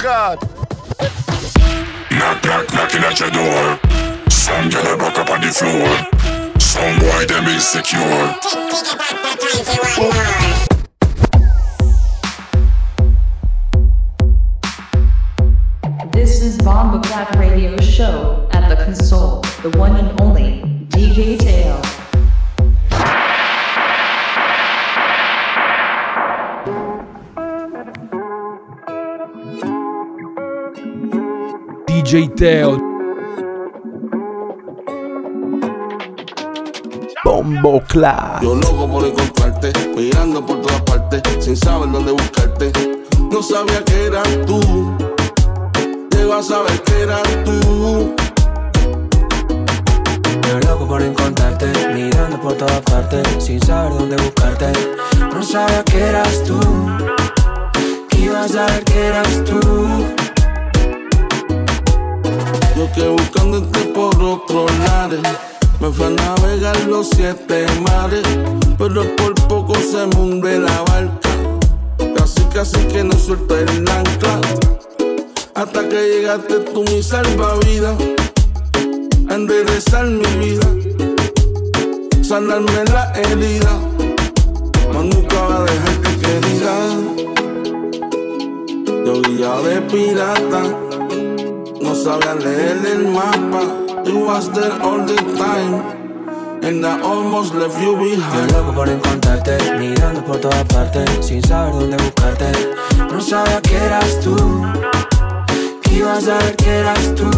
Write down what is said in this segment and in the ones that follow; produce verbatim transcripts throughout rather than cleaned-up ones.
God. Knock, knock, knocking at your door. Some girl a back up on the floor. Some boy them insecure. This is Bomba Clap Radio Show at the console, the one and only D J Teo. D J Teo. Bombo Clap. Yo loco por encontrarte, mirando por todas partes, sin saber dónde buscarte. No sabía que eras tú, llego a saber que eras tú. Yo loco por encontrarte, mirando por todas partes, sin saber dónde buscarte. No sabía que eras tú, que iba a saber que eras tú. Yo que buscándote por otros lares, me fui a navegar los siete mares, pero por poco se me hunde la barca. Casi casi que no suelto el ancla, hasta que llegaste tú mi salvavidas, a enderezar mi vida, sanarme la herida, mas nunca va a dejarte querida. Yo guiado de pirata, no sabía leer el mapa. You was there all the time, and I almost left you behind. Yo loco por encontrarte, mirando por todas partes, sin saber dónde buscarte. No sabía que eras tú, que iba a saber que eras tú.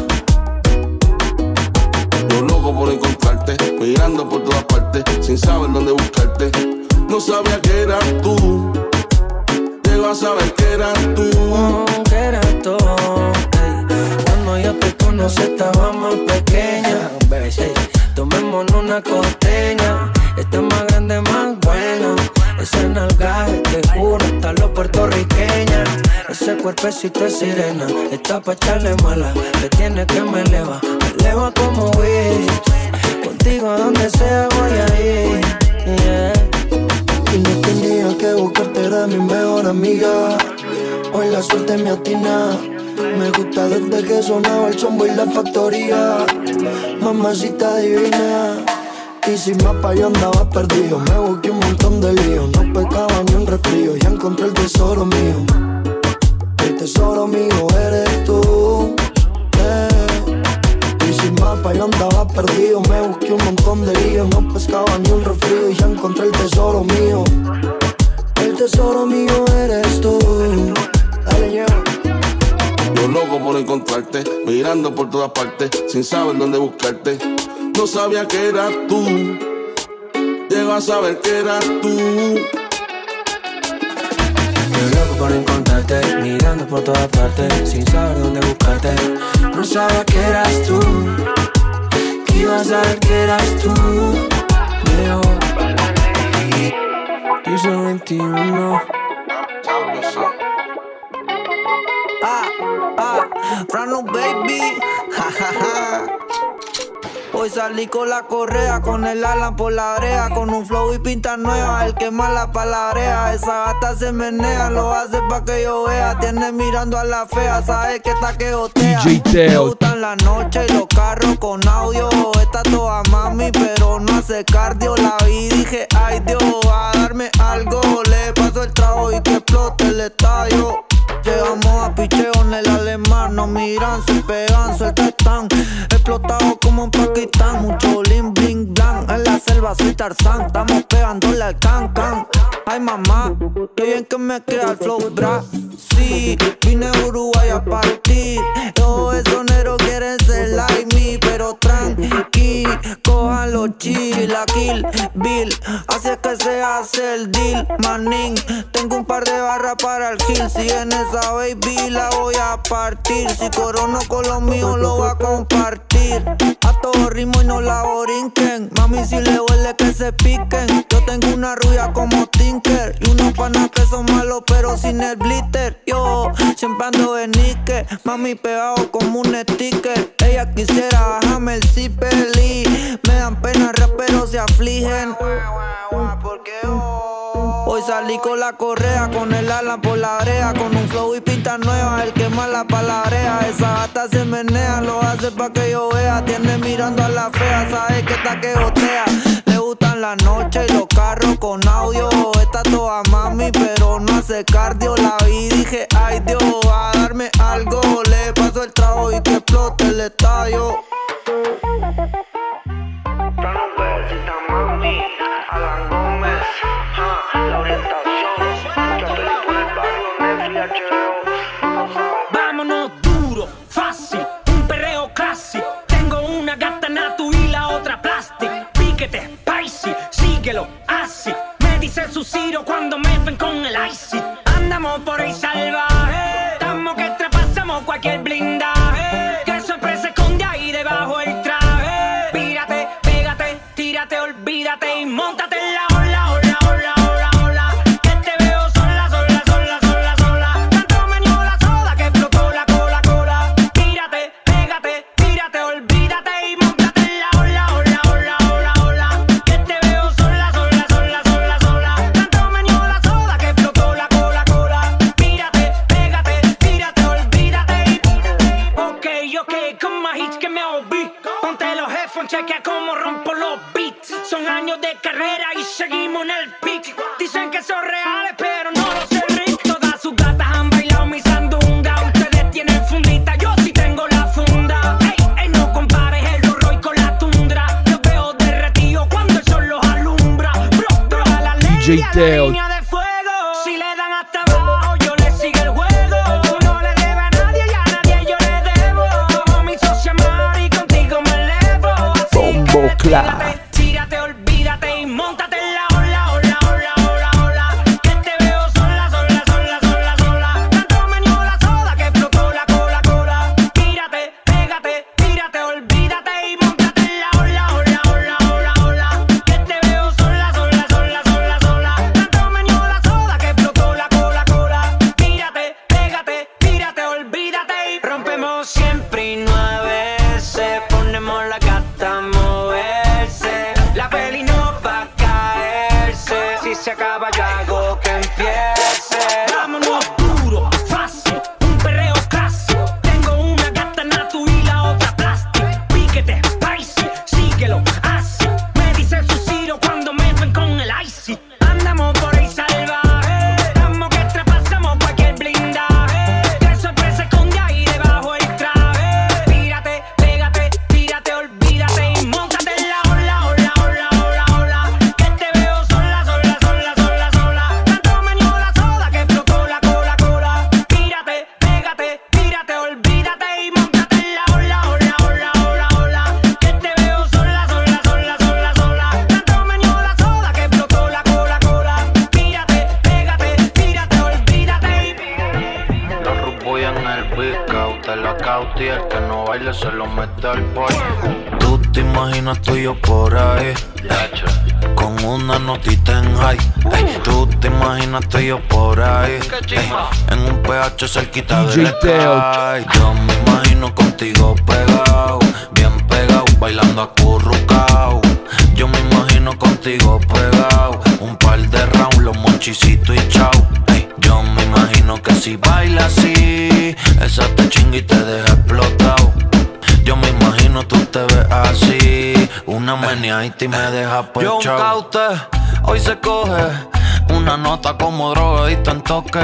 Yo loco por encontrarte, mirando por todas partes, sin saber dónde buscarte. No sabía que eras tú, llego a saber que eras tú. Oh, que eras tú. Cuando yo te conocí estaba más pequeña. Hey, tomémonos una costeña. Esta es más grande, más buena. Ese nalgaje, te juro, hasta lo puertorriqueña. Ese cuerpecito es sirena, está pa' echarle mala. Te tiene que me eleva, me eleva como Wish. Contigo a donde sea voy a ir, yeah. Y no tenía que buscarte, era mi mejor amiga. Hoy la suerte me atina. Me gusta desde que sonaba el chombo y la factoría. Mamacita divina. Y sin mapa yo andaba perdido. Me busqué un montón de líos. No pecaba ni un resfrío. Ya encontré el tesoro mío. El tesoro mío eres tú, eh. Y sin mapa yo andaba perdido. Me busqué un montón de líos. No pescaba ni un resfrío. Ya encontré el tesoro mío. El tesoro mío eres tú. Dale, yo. Yo loco por encontrarte, mirando por todas partes, sin saber dónde buscarte. No sabía que eras tú, llego a saber que eras tú. Yo loco por encontrarte, mirando por todas partes, sin saber dónde buscarte. No sabía que eras tú, que iba a saber que eras tú. Leo, piso veintiuno. Ah, ah, Frano baby, ja, ja, ja. Hoy salí con la correa, con el Alan por la brea, con un flow y pinta nueva, el que más la palabrea. Esa gata se menea, lo hace pa' que yo vea. Tiene mirando a la fea, sabe que está que gotea. D J Teo. Me gustan la noche y los carros con audio. Está toda mami, pero no hace cardio. La vi y dije, ay Dios, va a darme algo. Le paso el trago y que explote el estadio. Llegamos a picheo en el alemán. Nos miran, se pegan, suelta están. Explotados como en Pakistán. Mucho bling, bling, blanc. En la selva soy Tarzán. Estamos pegándole al can, can. Ay mamá, qué bien que me queda el flow, bra. Sí, vine a Uruguay a partir. Todos esos negros quieren ser like me, pero tranqui, cojan los chill, la kill, bill. Así es que se hace el deal, manín. Tengo un par de barras para el hill. Si en esa baby la voy a partir. Si corono con los míos lo voy a compartir. A todo ritmo y no la borinquen. Mami, si le huele que se piquen. Yo tengo una rubia como Tinker y unos panas que son malos pero sin el glitter. Yo siempre ando de níquel, mami pegado como un sticker. Ella quisiera bajarme el zipper y me dan pena, raperos se afligen. Porque hoy Hoy salí con la correa, con el ala por la brea, con un flow y pinta nueva, el que más la palabrea. Esa gata se menea, lo hace pa' que yo vea. Tiene mirando a la fea, sabe que está que gotea. Le gustan la noche y los carros con audio. Está toda mami, pero no hace cardio. La vi y dije, ay Dios, va a darme algo. Le paso el trago y que explote el estadio. Mami, Alan Gómez, ah, la orientación, yo estoy por el barrio de H B O. Vámonos duro, fácil, un perreo clásico. Tengo una gata natu y la otra plastic. Piquete, spicy, síguelo, así. Me dice su Ciro cuando me ven con el icy. Andamos por ahí salvaje, estamos que traspasamos cualquier blindaje. Qué sorpresa esconde ahí debajo el traje. Pírate, pégate, tírate, olvídate y móntate en la ola, ola, ola, ola, ola. Que te veo sola, sola, sola, sola, sola. Tanto me dio la soda que explotó la cola, cola. Tírate, pégate, tírate, olvídate y móntate en la ola, ola, ola, ola, ola. Que te veo sola, sola, sola, sola, sola. Tanto me dio la soda que explotó la cola, cola. Tírate, pégate, tírate, olvídate y ok, ok, con más hits que me oí. Ponte los headphones, chequea cómo rompo los beats. Son años de carrera y seguimos en el peak. Dicen que son reales, pero no lo sé, Rick. Todas sus gatas han bailado mi sandunga. Ustedes tienen fundita, yo sí tengo la funda. Ey, ey, no compares el Roy con la tundra. Los veo derretidos cuando el sol los alumbra. Bro, bro, a la ley, D J a Teo. la línea de fuego. Si le dan hasta abajo, yo le sigo el juego. No le debe a nadie y a nadie yo le debo. Como mi socia Mari, contigo me elevo. Así Bombo que Clat. tírate, tírate, olvídate y móntate en la ola, ola, ola, ola, ola. Que te veo sola, sola, sola, sola, sola. Tanto me dio la soda que explotó la cola, cola. Tírate, pégate, tírate, olvídate y móntate en la ola, ola, ola, ola, ola. Que te veo sola, sola, sola, sola, sola. Tanto me dio la soda que explotó la cola, cola. Tírate, pégate, tírate, olvídate y rompemos siempre y nueve veces. Ponemos la gata a moverse. La peli no va a caerse. Si se acaba ya hago que empiece. Vámonos duro, fácil, un perreo clásico. Tengo una gata natu y la otra plastic. Piquete, spicy, síguelo, así. Me dice su Ciro cuando me ven con el icy. Andamos por ahí salvaje, estamos que traspasamos cualquier blindaje. Qué sorpresa esconde ahí debajo el traje. Tírate, pégate, tírate, olvídate y móntate en la ola, ola, ola, ola, ola. Que te veo sola, sola, sola, sola, sola. Tanto me dio la soda que explotó la cola, cola. Tírate, pégate, tírate, olvídate y móntate en la ola, ola, ola, ola, ola. Que te veo sola, sola, sola, sola, sola. Tanto me dio la soda que explotó la cola, cola. Tírate, pégate, tírate, olvídate y Los rubos en el beat, te la cauti, el que no baile se lo mete al boy. Tú te imaginas tú y yo por ahí, ey, con una notita en high, ey. Tú te imaginas tú y yo por ahí, ey, en un P H cerquita D J del Teo. sky. Yo me imagino contigo pegado, bien pegado, bailando acurrucao. Yo me imagino contigo pegado, un par de rounds, los monchicitos y chao. Ey, yo me imagino que si baila así, esa te chinga y te deja explotado. Yo me imagino tú te ves así, una meneadita y me deja Yo por un chao. caute, Hoy se coge una nota como drogadito en toque.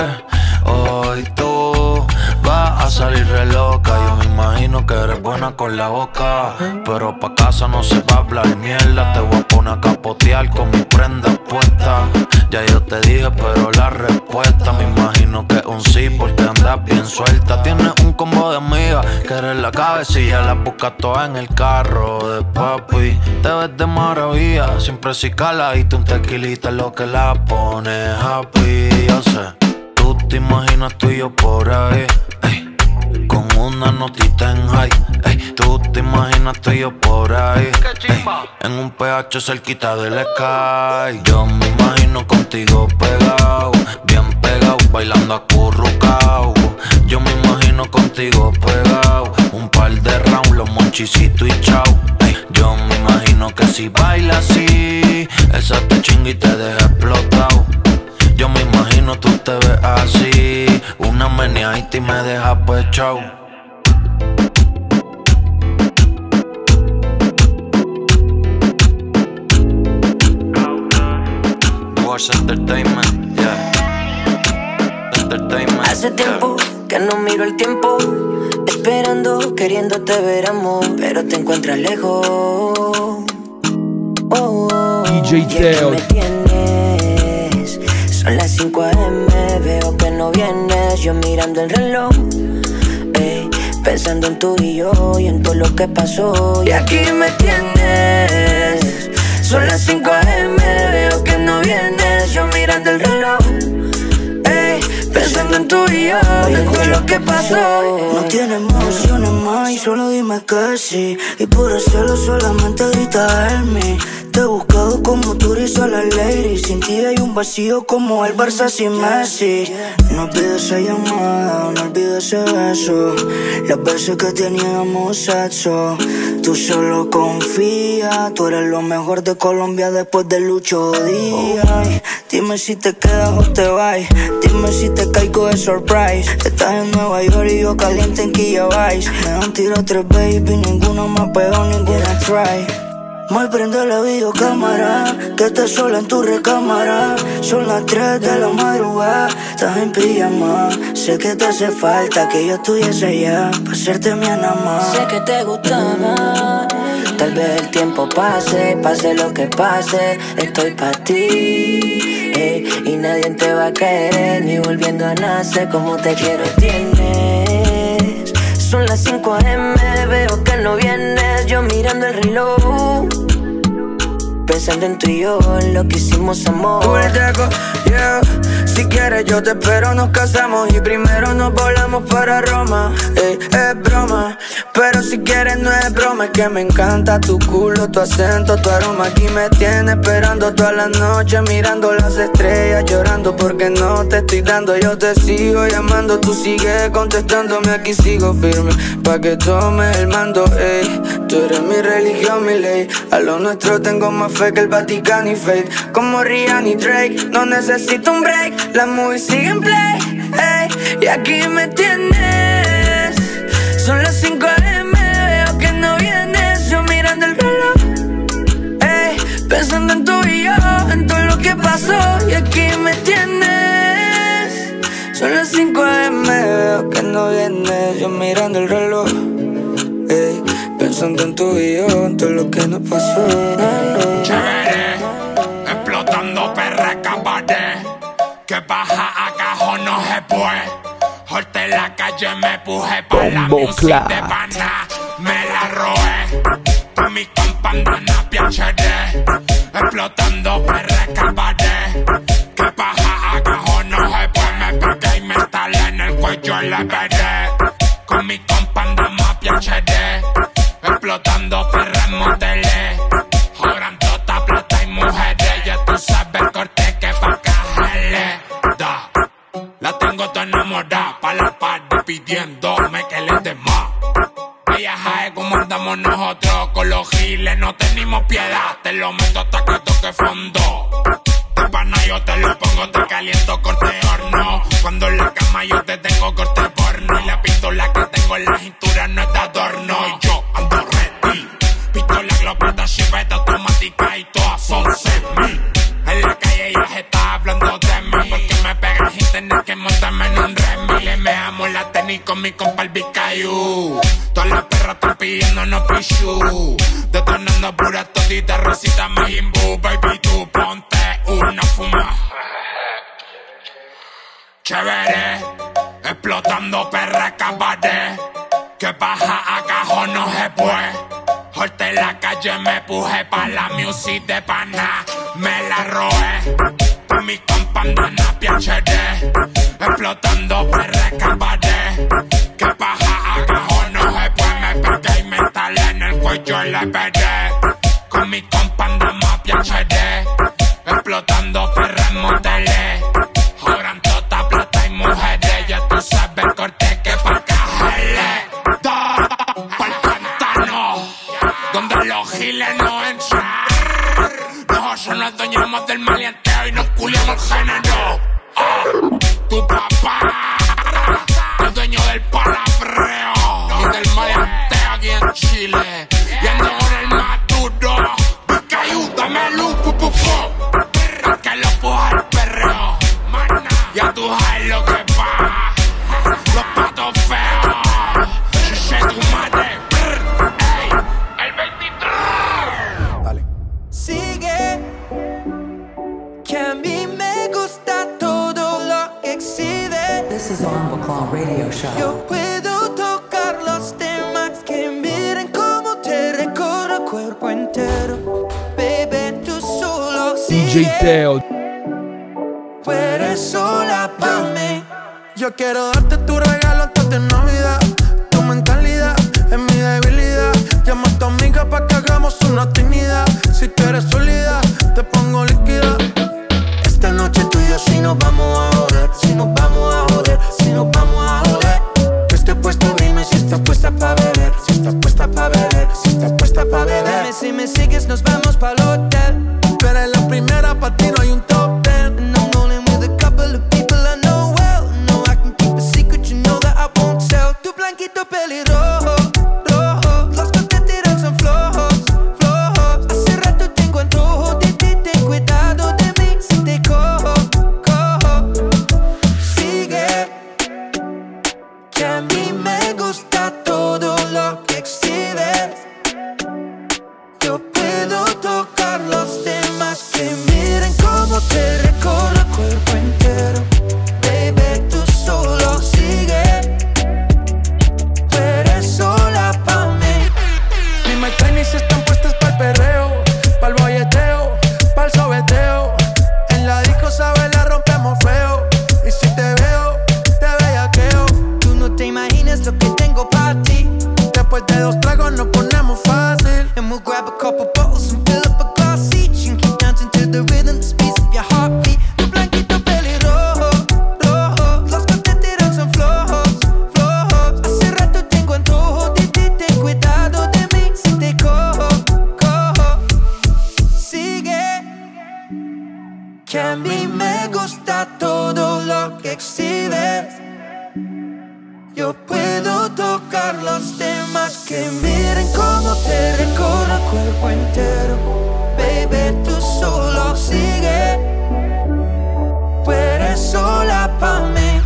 Hoy tú vas a salir re loca. Yo me imagino que eres buena con la boca, pero pa' casa no se va a hablar mierda. Te voy a poner a capotear con mi prenda puesta. Ya yo te dije, pero la respuesta me imagino que es un sí, porque andas bien suelta. Tienes un combo de amigas que eres la cabecilla. Las buscas todas en el carro de papi. Te ves de maravilla, siempre si caladito. Un tequilita es lo que la pone happy. Yo sé, tú te imaginas tú y yo por ahí, ey, con una notita en high, ey. Tú te imaginas tú y yo por ahí, ey, en un P H cerquita del sky. Yo me imagino contigo pegado, bien pegado, bailando acurrucao. Yo me imagino contigo pegado, un par de rounds, los monchicitos y chao. Ey, yo me imagino que si baila así, esa te chinga y te deja explotado. Yo me imagino tú te ves así, una meneadita y me dejas pues chau. Duos Entertainment, yeah. Entertainment. Hace tiempo que no miro el tiempo, esperando, queriéndote ver, amor, pero te encuentras lejos. Oh, oh, D J Teo. me tienes. Son las cinco a eme, veo que no vienes. Yo mirando el reloj, ey, pensando en tú y yo y en todo lo que pasó. Y aquí me tienes. Son las cinco a eme, veo que no vienes. Yo mirando el reloj, ey, pensando en tú y yo y en todo lo que pasó. No tienes emociones más y solo dime que sí. Y por hacerlo solamente grita help me. Te he buscado como tú eres a la lady. Sin ti hay un vacío como el Barça sin Messi. No olvides esa llamada, no olvides ese beso. Las veces que teníamos sexo. Tú solo confía, tú eres lo mejor de Colombia después de Lucho Díaz. Dime si te quedas o te vas. Dime si te caigo de surprise. Estás en Nueva York y yo caliente en Quilla Vice. Me han tirado tres baby, ninguna me pegó, ninguna try. Mal prende la videocámara, que estés sola en tu recámara. Son las tres de la madrugada, estás en pijama. Sé que te hace falta que yo estuviese allá para hacerte mi anamá. Sé que te gustaba, tal vez el tiempo pase, pase lo que pase, estoy pa' ti, ey, y nadie te va a querer, ni volviendo a nacer como te quiero tienes. Son las cinco a eme, veo que no vienes, yo mirando el reloj, pensando en tú y yo, en lo que hicimos, amor. Ulteco, yeah. Si quieres yo te espero, nos casamos y primero nos volamos para Roma. Ey, es broma, pero si quieres no es broma. Es que me encanta tu culo, tu acento, tu aroma. Aquí me tienes esperando toda la noche, mirando las estrellas, llorando porque no te estoy dando. Yo te sigo llamando, tú sigues contestándome, aquí sigo firme pa' que tomes el mando, ey. Tú eres mi religión, mi ley. A lo nuestro tengo más fe que el Vaticano y Faith. Como Rihanna y Drake, no necesito un break. Las movies siguen play, ey, y aquí me tienes. Son las cinco a eme, veo que no vienes. Yo mirando el reloj, ey, pensando en tú y yo, en todo lo que pasó. Y aquí me tienes. Son las cinco a eme, veo que no vienes. Yo mirando el reloj, ey, pensando en tú y yo, en todo lo que nos pasó. Chévere, explotando perra cabaret. Que baja a cajón no se puede. Jorte la calle me puje pa' la music de pana. Me la robé. Pa' mi compa andana piachere. Explotando perra cabaret. Que baja a cajón no se puede. Me pegué y me instalé en el cuello le veré. Con mi compa andamos piachere. Explotando perra en moteles. Joran tota plata y mujeres. Ya tú sabes el corte que pa' cajarle. Da. La tengo toda enamorada. Pa' la party pidiéndome que le dé más. Ella sabe cómo andamos nosotros. Con los giles no tenemos piedad. Te lo meto hasta que toque fondo. De pana yo te lo pongo, te caliento corte horno. Cuando en la cama yo te tengo corte porno. Y la pistola que tengo en la cintura no es de adorno. Y yo ando ready. Pistola, glopeta, chiveta automática y todas son semi. En la calle ella se está hablando de mí. Porque me pegan sin tener que montarme en un Remy. Le mejamos la tenis con mi compa el Vizcayu. Todas las perras están pidiéndonos pichu. Detonando pura todita, Rosita Majimbu. Baby, tú ponte una fuma. Chévere, explotando perra cabaret. Que baja a cajón no se puede. Jorte la calle me puje pa' la music de pana. Me la robé. Pa' mi compa andana piachere. Explotando perra cabaret. Que baja a cajón no se puede. Me pegué y me instalé en el cuello le veré. Con mi compa andamos piachere. Explotando perra en moteles. Joran tota plata y mujeres. Ya tú sabes el corte que pa' cajarle. Da, pa'l pantano, donde los giles no entran. Los eso nos adueñamos del maleanteo y nos culiamos el género. Ah, tu papá es dueño del palabreo y del maleanteo aquí en Chile. Y ando con el más duro. Porque ayúdame, luz, pu, pu, pu. Que lo puja el perreo. Ya tú sabes lo que pasa. Los patos feos. Yo sé tu madre. Ey, el veintitrés. Dale. Sigue. Que a mí me gusta todo lo que existe. This is Bomboclaw Radio Show. Yo puedo tocar los temas que miren cómo te recorro el cuerpo entero. Baby, tú solo D J sigue. Teo. Tú eres sola pa' mí. Yo quiero darte tu regalo antes de Navidad. Tu mentalidad es mi debilidad. Llama a tu amiga pa' que hagamos una trinidad. Si tú eres sólida, te pongo líquida. Esta noche tú y yo si nos vamos a joder. Si nos vamos a joder, si nos vamos a joder. Yo estoy puesto, dime si estás puesta pa' beber. Si estás puesta pa' beber, si estás puesta pa' beber. Dime si me sigues, nos vamos pa'l hotel. Tú eres la primera, pa' ti no hay un top ten. And I'm only with a couple of people I know well. No, I can keep a secret, you know that I won't tell. Tu blanquito pelirrojo, rojo. Los que te tiran son flojos, flojos. Hace rato tengo antojo de ti, ten cuidado de mí si te cojo, cojo. Sigue, que a mí me gusta todo lo que exhibes. Yo puedo tocar los temas que miren cómo te recorro el cuerpo entero. Baby, tú solo sigue. Tú eres sola pa' mí. Mis my trainees están puestas pa'l perreo, pa'l bolleteo, pa'l sobeteo. En la disco, sabes, la rompemos feo. Y si te veo, te bellaqueo. Tú no te imaginas lo que tengo pa' ti. Después de dos tragos nos ponemos fácil. And we'll grab a couple bottles and fill up a glass each. And keep dancing to the rhythm, the speeds of your heartbeat. Tu blanquito pelirrojo, rojo. Los que te tiran son flojos, flojos. Hace rato tengo antojo de ti, ten cuidado de mí si te cojo, cojo. Sigue, que a mí me gusta todo lo que exhibes. Yo puedo tocar los temas que miren cómo te recorro el cuerpo entero. Baby, tú solo sigue. Tú eres sola pa' mí.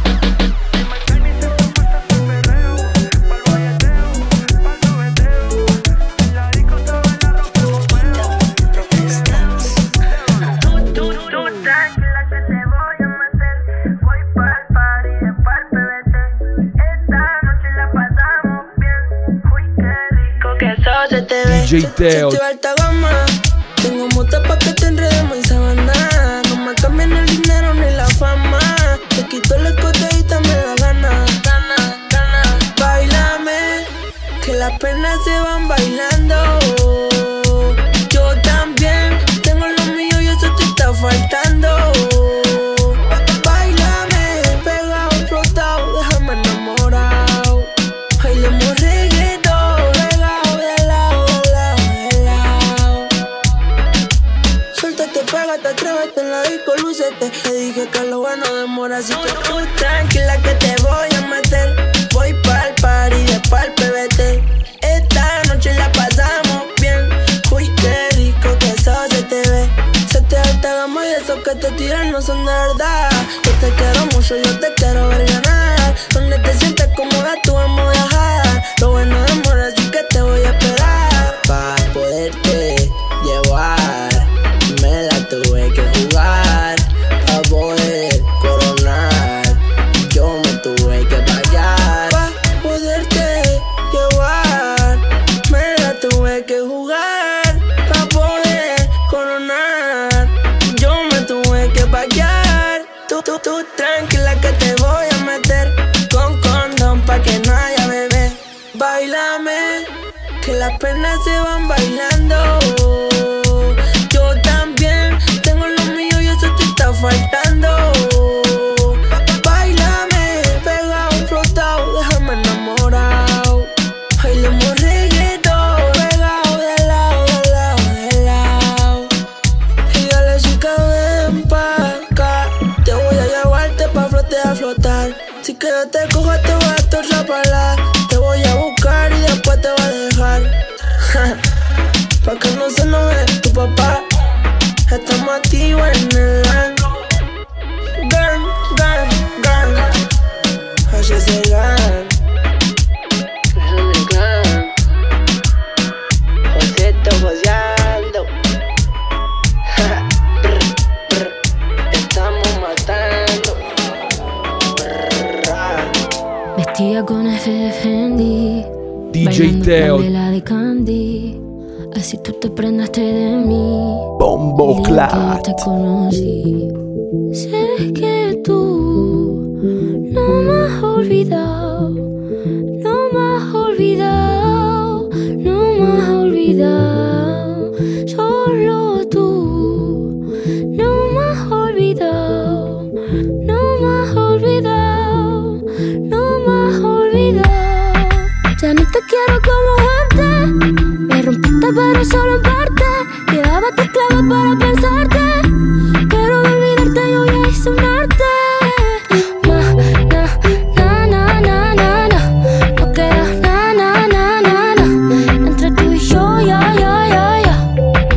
D J Teo. Estoy alta gama. Tengo motos pa' que te enredemos en sabana. No me cambian el dinero ni la fama. Te quito el escote y dame la gana. Gana, gana. Báilame, que las penas se van bailando. Yo también tengo lo mío y eso te está faltando. Báilame, pegado, flotado, déjame enamorado. Bailemos reggaetón, regao de lado, de lado, de lado. Suéltate, pégate, atrévete en la disco, lúcete. Te dije que lo bueno demora, así que tú tranquila que te voy a meter. Voy pa'l party de pa'l P B T. Esta noche la pasamos bien. Uy, qué rico que eso se te ve. Se te alta gama y esos que te tiran no son de verdad. Yo te quiero mucho, yo te quiero ver ganar. Donde te sientes cómoda, tú vamos a viajar. Lo bueno demora, así que te voy a esperar. Pa' poderte llevar, me la tuve que jugar. Pa' poder coronar, yo me tuve que pagar. Pa' poderte llevar, me la tuve que jugar. Pa' poder coronar, yo me tuve que pagar. Tú, tú, tú tranquila que te voy a meter con condón pa' que no haya bebé. Báilame, que las penas se van bailando. Yo también tengo lo mío y eso te está faltando. Báilame, pegado, flotado, déjame enamorado. Bailemos reggaetón, pegado de lado, de lado, de lado. Y Si que yo te cojo te voy a atorrapalar. Te voy a buscar y después te voy a dejar. Pa' que no se enoje tu papá. Estamos activos en el line. Girl, girl, girl. H S Gang. Joseto joseando. Estamos matando. Vestida con F de Fendi, D J Teo, la de Candy. Así tú te prendaste de mí. Bombo Clat. Te conocí. Sé que tú no me has olvidado, no me has olvidado, no me has olvidado. Solo tú no me has olvidado, no me has olvidado, no me has olvidado. Ya no te quiero como antes. Me rompiste pero solo en parte. Llevaba tus claves para pensarte, pero de olvidarte yo ya hice un arte. Ma, na, na, na, na, na, na. No queda na, na, na, na, na. Entre tú y yo, ya, ya, ya, ya.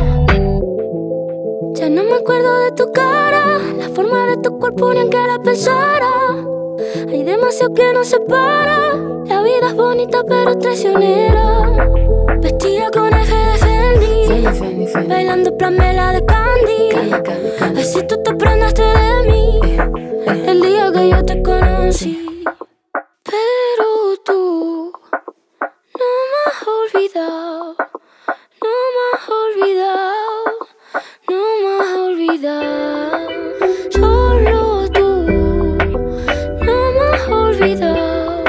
Ya no me acuerdo de tu cara, la forma de tu cuerpo ni en que la pensara. Hay demasiado que nos separa. La vida es bonita pero traicionera. Vestida con F de Fendi, Fendi, Fendi, Fendi. Bailando plamela de Candy. Así tú te prendaste de mí el día que yo te conocí. Pero tú no me has olvidado, no me has olvidado, no me has olvidado. Solo tú no me has olvidado.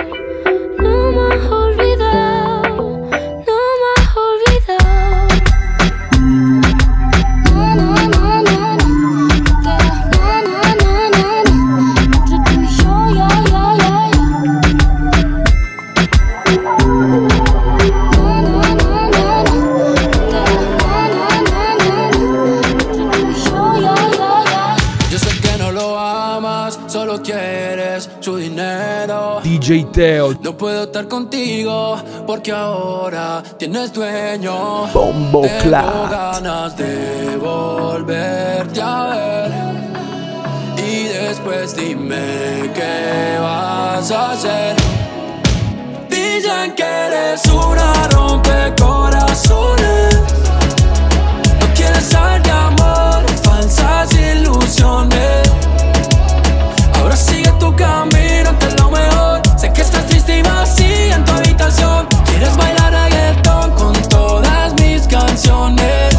D J Teo. No puedo estar contigo porque ahora tienes dueño. Bombo Clat. Tengo ganas de volverte a ver. Y después dime qué vas a hacer. Dicen que eres una rompecorazones. No quieres saber de amor, falsas ilusiones. Ahora sigue tu camino, que es lo mejor. Sé que estás triste y vacía en tu habitación. Quieres bailar reggaetón con todas mis canciones.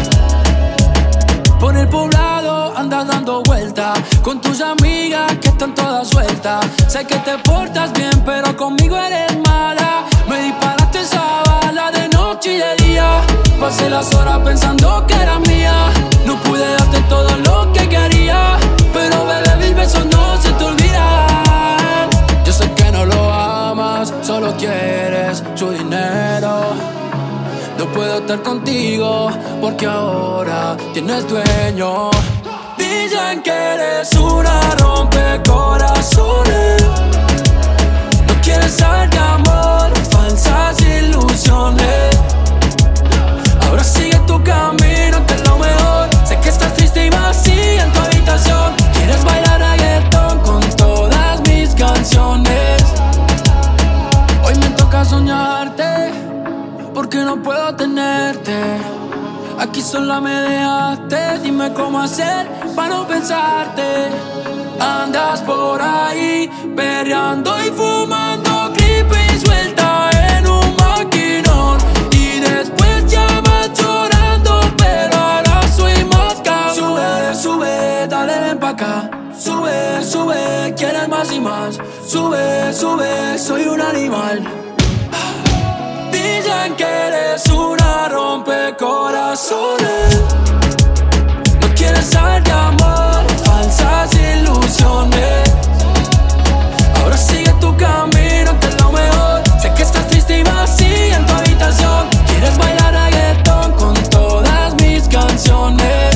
Por el poblado andas dando vuelta con tus amigas que están todas sueltas. Sé que te portas bien, pero conmigo eres mala. Me disparaste esa bala de noche y de día. Pasé las horas pensando que era mía. No pude darte todo lo que quería, pero bebé, mis besos no se te olvidan. Yo sé que no lo amas, solo quieres su dinero. No puedo estar contigo porque ahora tienes dueño. Dicen que eres una rompecorazones. No quieres saber de amor, falsas ilusiones. Ahora sigue tu camino, que es lo mejor. Sé que estás triste y vacía en tu habitación. Quieres bailar reggaetón con todas mis canciones. Hoy me toca soñarte porque no puedo tenerte. Aquí sola me dejaste, dime cómo hacer para no pensarte. Andas por ahí perreando y fumando creepy, suelta en un maquinón. Y después llamas llorando, pero ahora soy más cabrón. Sube, sube, dale ven pa' acá. Sube, sube, quieres más y más. Sube, sube, soy un animal. Dicen que eres una rompecorazones. No quieres saber de amor, falsas ilusiones. Ahora sigue tu camino, que es lo mejor. Sé que estás triste y vacía en tu habitación. Quieres bailar reggaetón con todas mis canciones.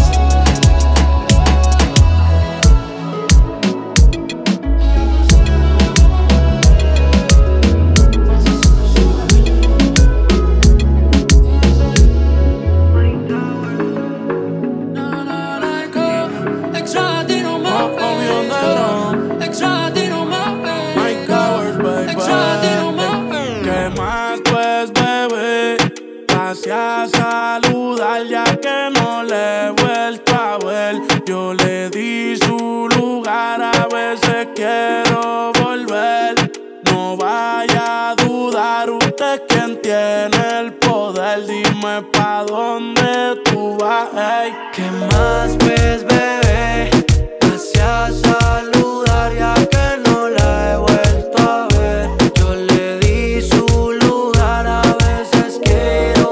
pasé a saludar ya que no le he vuelto a ver. Yo le di su lugar, a veces quiero volver. No vaya a dudar, usted es quien tiene el poder. Dime pa' dónde tú vas, hey. ¿Qué más ves, bebé? Pasé a saludar ya que no la he vuelto a ver. Yo le di su lugar, a veces quiero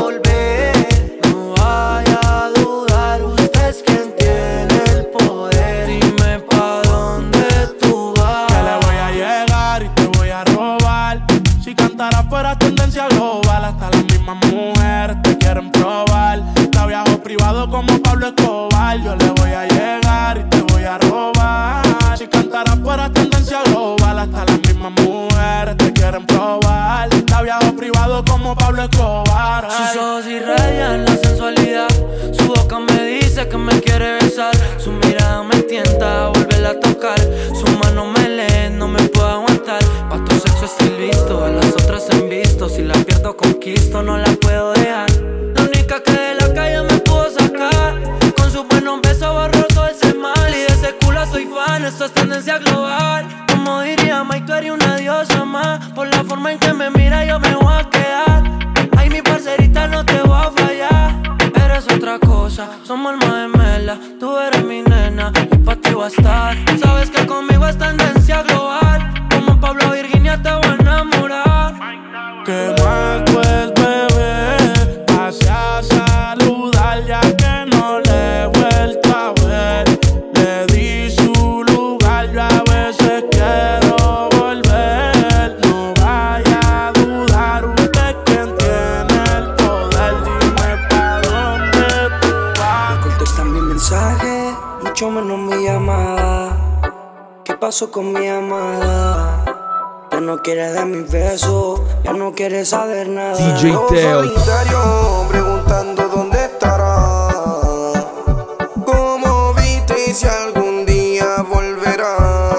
volver. No vaya a dudar, usted es quien tiene el poder. Dime pa' dónde tú vas. Que le voy a llegar y te voy a robar. Si cantaras fuera tendencia global, hasta las mismas mujeres te quieren probar. Te viajo privado como Pablo Escobar. Yo le voy a llegar y te voy a robar. Si cantaras fuera tendencia global, hasta las mismas mujeres te quieren probar. Te viajo privado como Pablo Escobar. Sus ojos irradian la sensualidad. Su boca me dice que me quiere besar. Su mirada me tienta a volverla a tocar. Sus manos me leen, no me puedo aguantar. Pa' tu sexo estoy listo, a las otras en visto. Si la pierdo conquisto, no la puedo dejar. La única que de la calle me pudo sacar. Con sus buenos besos borró todo ese mal. Y de ese culo soy fan, esto es tendencia global. Como diría Mike, tú eres una diosa más. Por la forma en que me mira yo me voy a quedar. Ay, mi parcerita, no te voy a fallar. Eres otra cosa, somos alma gemela. Tú eres mi nena y pa' ti voy a estar. Sabes que conmigo es tendencia global. Como Pablo Virginia te voy a enamorar. ¿Qué más pues, bebé? Pasé a saludar ya que no le he vuelto a ver. Le di su lugar, yo a veces quiero volver. No vaya a dudar, usted es quien tiene el poder. Dime pa' dónde tú vas. No contestas mi mensaje, mucho menos mi llamada. ¿Qué pasó con mi amada? Ya no quieres de mis besos, ya no quieres saber nada. D J Teo. Solitario, preguntando dónde estará. ¿Cómo viste y si algún día volverá?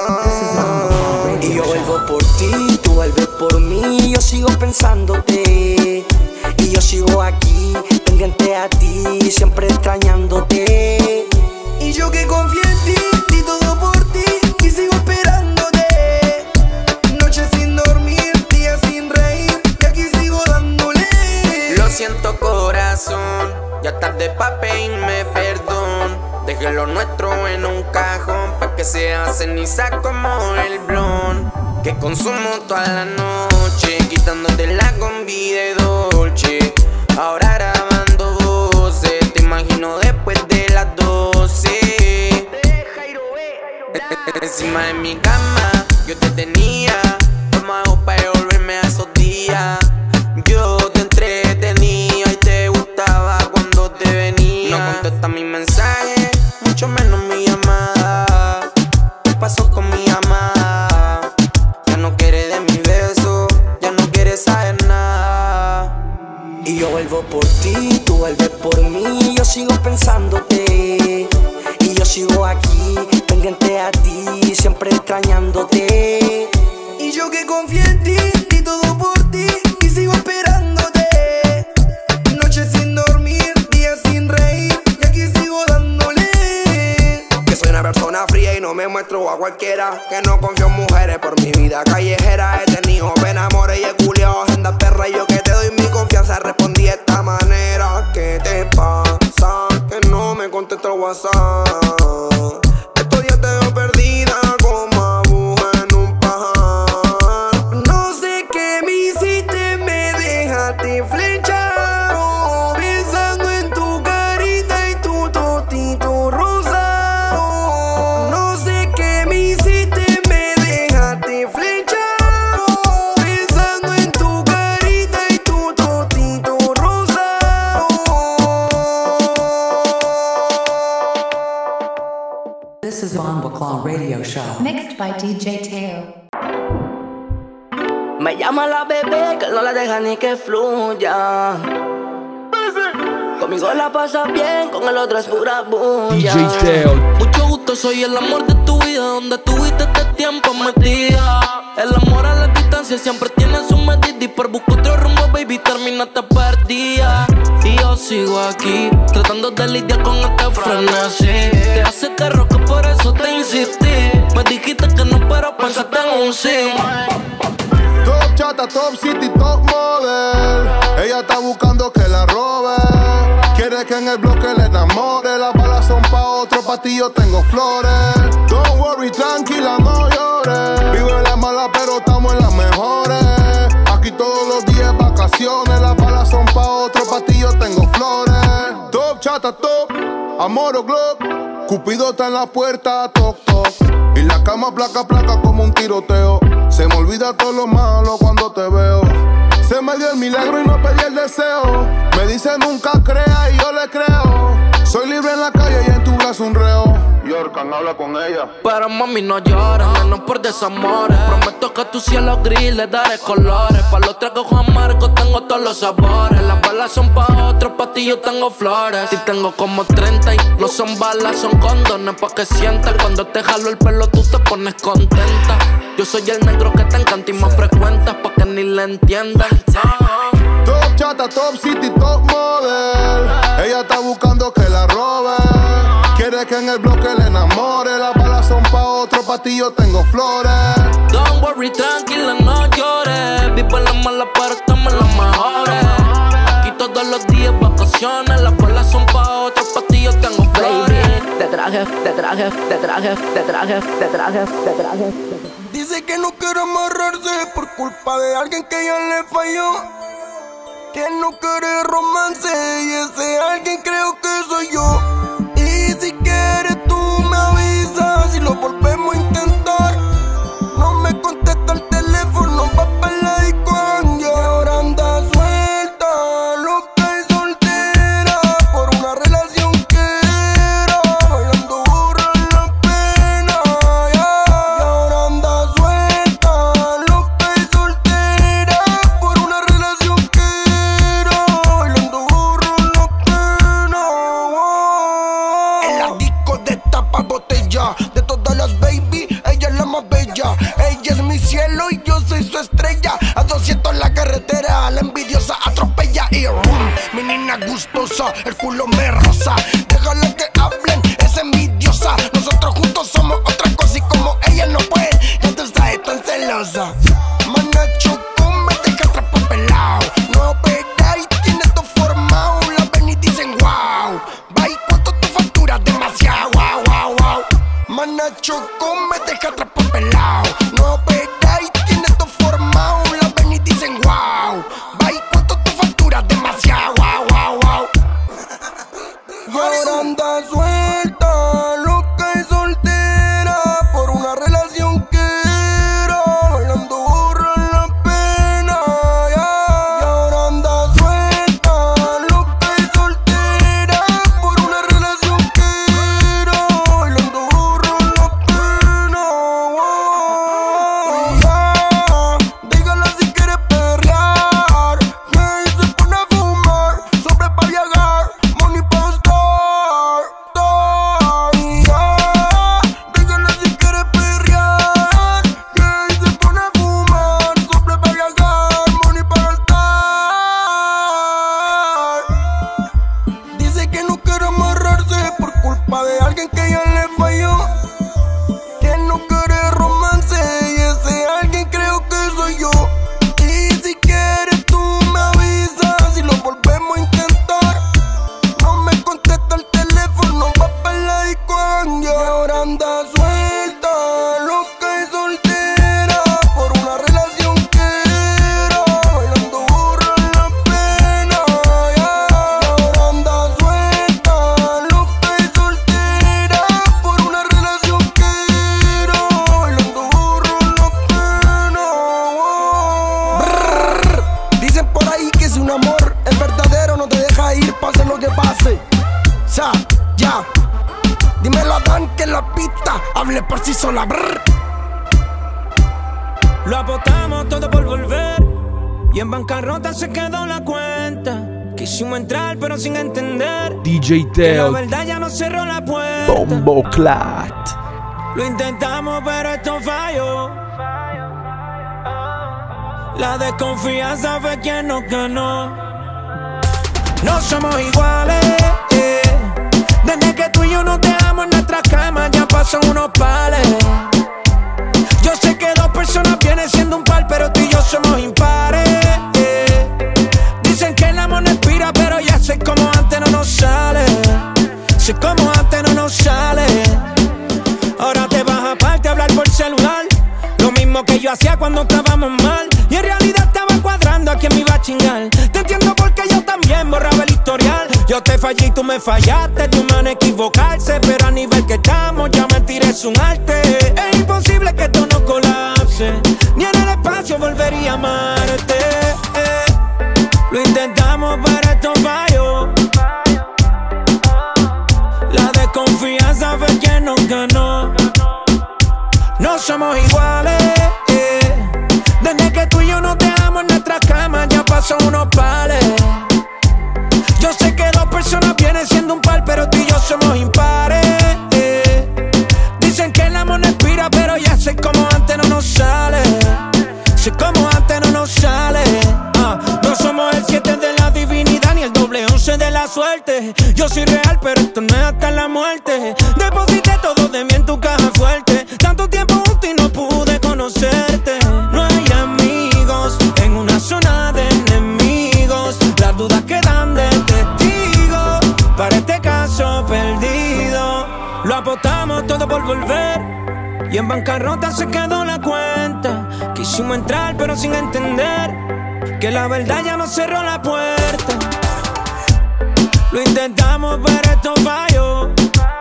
Y yo vuelvo por ti, tú vuelves por mí. Yo sigo pensándote y yo sigo aquí, pendiente a ti, siempre extrañándote. Y yo que confié en ti, di todo por ti y sigo esperándote. Noches sin dormir, días sin reír y aquí sigo dándole. Lo siento corazón, ya tarde pa' pedirme perdón. Dejé lo nuestro en un cajón pa' que sea ceniza como el blon. Que consumo toda la noche, quitándote la combi de Dolce. Ahora grabando voces, te imagino después de las doce. Encima de mi cama, yo te tenía. Tomado para volverme a esos días. Yo te entretenía y te gustaba cuando te venía. No contestas mi mensaje, mucho menos mi llamada. ¿Qué pasó con mi amada? Ya no quiere de mis besos, ya no quiere saber nada. Y yo vuelvo por ti, tú vuelves por mí. Yo sigo pensándote y yo sigo aquí, pendiente a ti, siempre extrañándote. Y yo que confié en ti, di todo por ti y sigo esperándote. Noches sin dormir, días sin reír y aquí sigo dándole. Que soy una persona fría y no me muestro a cualquiera. Que no confío en mujeres por mi vida callejera. He tenido pena, amores y he culiao agenda perra. Y yo que te doy mi confianza respondí de esta manera. ¿Qué te pasa? Que no me contesta el WhatsApp. Estos días te veo perdida como aguja en un pajar. No sé qué me hiciste, me dejaste flechado. Pensando en tu carita y tu totito rosado. No sé qué me hiciste, me dejaste flechado. Pensando en tu carita y tu totito rosado. This is Bomba Claw Radio Show. Mixed by D J Teo. Me llama la bebé que no la deja ni que fluya. Conmigo la pasa bien, con el otro es pura bulla. D J Teo. Mucho gusto momento soy el amor de tu vida, donde tuviste este tiempo metida. El amor a la distancia siempre tiene su medida, y por buscar otro rumbo, baby, terminaste perdida. Y yo sigo aquí, tratando de lidiar con este frenesí. Te hace terror que por eso te insistí. Me dijiste que no, pero pensaste en un sí. Top chata, top city, top model. Ella está buscando que la robe. Quiere que en el bloque le enamore. Las balas son pa' otro, pa' ti yo tengo flores. Don't worry, tranquila, no llores. Vivo en la mala, pero estamos en las mejores. Aquí todos los días vacaciones. Las balas son pa' otro, pa' ti yo tengo flores. Top chata, top, amor o glock. Cupido está en la puerta, toc toc. Y la cama placa placa como un tiroteo. Se me olvida todo lo malo cuando te veo. Se me dio el milagro y no pedí el deseo. Me dice nunca crea y yo le creo. Soy libre en la calle y en tu brazo un reo. Yorkan, habla con ella. Pero mami no llores, menos por desamores. Prometo que a tu cielo gris le daré colores. Pa' los tragos amargos tengo todos los sabores. Las balas son pa' otros, pa' ti yo tengo flores. Y tengo como treinta y no son balas, son condones. Pa' que sientas cuando te jalo el pelo tú te pones contenta. Yo soy el negro que te encanta y más frecuentas pa' que ni le entiendas. Top chata, top city, top model. Ella está buscando que la robe. Quiere que en el bloque le enamore. Las balas son pa' otro, pa' ti yo tengo flores. Don't worry, tranquila, no llores. Vivo en la mala, pero estamos en las mejores. Aquí todos los días vacaciones. Las balas son pa' otro, pa' ti yo tengo flores. Te traje, te traje, te traje, te traje, te traje, te traje. Dice que no quiere amarrarse por culpa de alguien que ya le falló. Que no quiere romance y ese alguien creo que soy yo. Y si quieres tú me avisas y lo volvemos a intentar. No me contesta el teléfono, va pa' la disco y ahora anda suelta, loca y soltera por una relación que era, bailando borra la pena, yeah. Y ahora anda suelta, loca y soltera por una relación que era, bailando borra la pena, wow. En la disco de tapa botella, de todas las baby, ella es la más bella. Ella es mi cielo y yo soy su estrella. A doscientos en la carretera, la envidiosa atropella. Y rum, mi nena gustosa, el culo me rosa. Déjala que hablen, es envidiosa. Nosotros juntos somos otra cosa y como ella no puede, ya tú sabes, tan celosa. Mana Choco me deja atrapado pelao. No opera y tiene todo formado. La ven y dicen wow. Va y cuánto tu factura, demasiado, wow, wow, wow. Mana Choco me deja atrapado pelao. No opera y tiene todo formado. La ven y dicen wow. Va y cuánto tu factura, demasiado, wow, wow, wow. Y ahora anda suelta, loca y soltera por una relación que era, bailando borra la pena, yeah. Y ahora anda suelta, loca y soltera por una relación que era, bailando borra la pena, wow. Yeah. Dígale si quiere perrear, que se pone a fumar, sobre pa' viajar, money pa' estar, estar. Yeah. Dígale si quiere perrear, que se pone a fumar, sobre pa' viajar, money pa' estar. Dice que no quiere amarrarse por culpa de alguien que ya le falló. Que no quiere romance y ese alguien creo que soy yo. Y si quieres tú me avisas y lo volvemos a intentar. No me contesta el teléfono, va pa' la disco y ahora anda suelta, loca y soltera por una relación que era, bailando borra la pena, yeah. Y ahora anda suelta, loca y soltera por una relación que era, bailando borra la pena, wow. Brrr. Dicen por ahí que si un amor es verdadero no te deja ir, pase lo que pase. Ya, ya. Dímelo a Dan que la pista hable por sí sola. Brrr. Lo apostamos todo por volver y en bancarrota se quedó la cuenta. Quisimos entrar pero sin entender D J que la Teo, verdad ya no cerró la puerta. Bomboclat. Lo intentamos pero esto falló. La desconfianza fue quien nos ganó. No somos iguales, eh. Desde que tú y yo nos dejamos en nuestras camas ya pasan unos pales. Yo sé que dos personas vienen siendo un par, pero tú y yo somos impares, eh. Dicen que el amor no expira, pero ya sé como antes no nos sale. Sé como antes no nos sale. Ahora te vas aparte a hablar por celular, lo mismo que yo hacía cuando estábamos mal. Y en realidad estaba cuadrando a quién me iba a chingar. Te entiendo porque yo también borraba el historial. Yo te fallé y tú me fallaste, tu mano equivocarse, pero a nivel que estamos ya mentir es un arte. Es imposible que esto no colapse, ni en el espacio volvería a amarte, eh. Lo intentamos pero esto falló. La desconfianza fue quien nos ganó. No somos iguales, eh. Desde que tú y yo nos dejamos en nuestras camas ya pasan unos pales. Yo sé que dos personas vienen siendo un par, pero tú y yo somos impares, eh. Dicen que el amor no expira, pero ya sé como antes no nos sale. Sé como antes no nos sale. uh, No somos el siete de la divinidad ni el doble once de la suerte. Yo soy real, pero esto no es hasta la muerte. Deposité todo de mí en tu caja fuerte. Tanto tiempo juntos y no pude conocerte. No hay amigos en una zona de enemigos. Las dudas quedan de testigo para este caso perdido. Lo apostamos todo por volver y en bancarrota se quedó la cuenta. Quisimos entrar pero sin entender que la verdad ya nos cerró la puerta. Lo intentamos pero esto falló.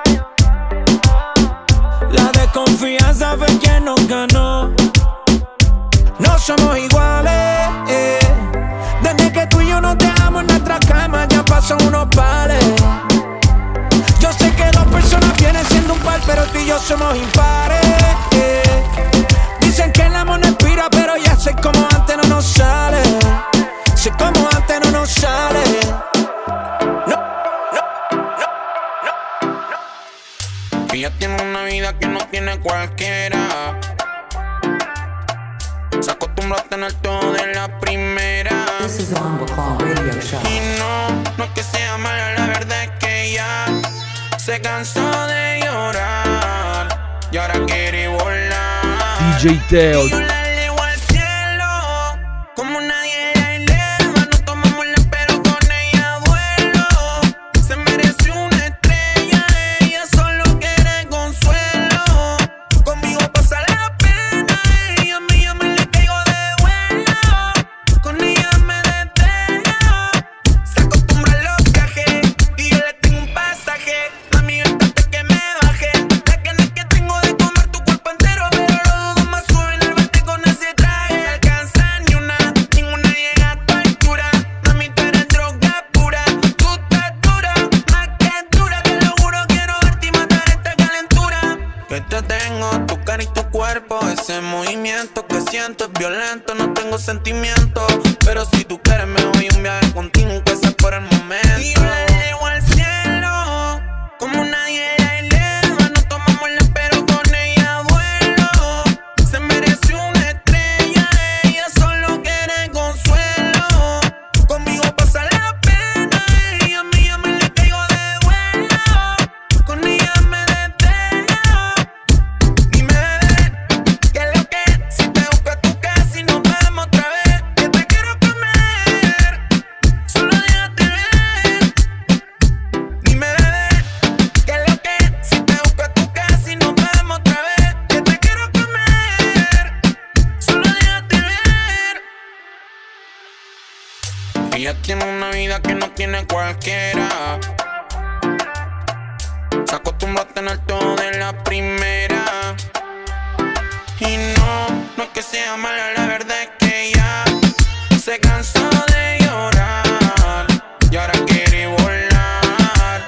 La desconfianza fue quien nos ganó. No somos iguales, eh. Desde que tú y yo nos dejamos en nuestras camas ya pasan unos pales. Yo sé que dos personas vienen siendo un par, pero tú y yo somos impares, eh. Dicen que el amor no expira, pero ya sé como antes no nos sale. Sé como antes no nos sale. No, no, no, no, no. Ella tiene una vida que no tiene cualquiera. Se acostumbró a tener todo de la primera. This is the Humble Call Radio Show. Y no, no es que sea mala, la verdad es que ella se cansó de llorar y ahora quiere volar. D J Teo. Y yo la elevo al cielo como nadie la eleva. No tomamos la pero con ella vuelo. Se merece una estrella, ella solo quiere consuelo. Conmigo pasa la pena, ella a mí yo me le caigo de vuelo. Con ella me desvelo. Se acostumbra a los viajes y yo le tengo un pasaje. Mami, yo hasta que me baje. La ganas que tengo de comer tu cuerpo entero, pero lo dudo más suben al verte con ese traje. No alcanza ni una, ninguna llega a tu altura. Mami, tú eres droga pura. Tú estás dura, más que dura. Te lo juro, quiero verte y matar esta calentura. Que te tengo, tu cara y tu cuerpo. Ese movimiento que siento es violento. No tengo sentimiento, pero si tú quieres me voy a un viaje contigo, que sea por el momento. Y yo la elevo al cielo como nadie la eleva. No tomamos la pero con ella vuelo. Se merece una estrella, ella solo quiere consuelo. Conmigo pasa la pena, ella a mí yo me le caigo de vuelo. Con ella me desvelo. Dime bebé, ¿qué es lo que? Si te busco a tu casa y nos vemos otra vez, que te quiero comer, solo déjate ver. Dime bebé, ¿qué es lo que? Si te busco a tu casa y nos vemos otra vez, que te quiero comer, solo déjate ver. Ella tiene una vida que no tiene cualquiera. Se acostumbró a tener todo de la primera. Y no, no es que sea mala, la verdad es que ella se cansó de llorar y ahora quiere volar.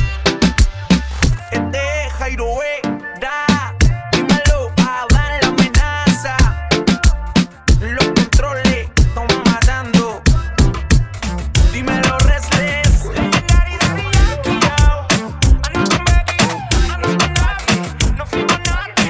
Este es Jairo da, dímelo, Adán la amenaza. Los controles están matando. Dímelo, Restless. No fuimos nada.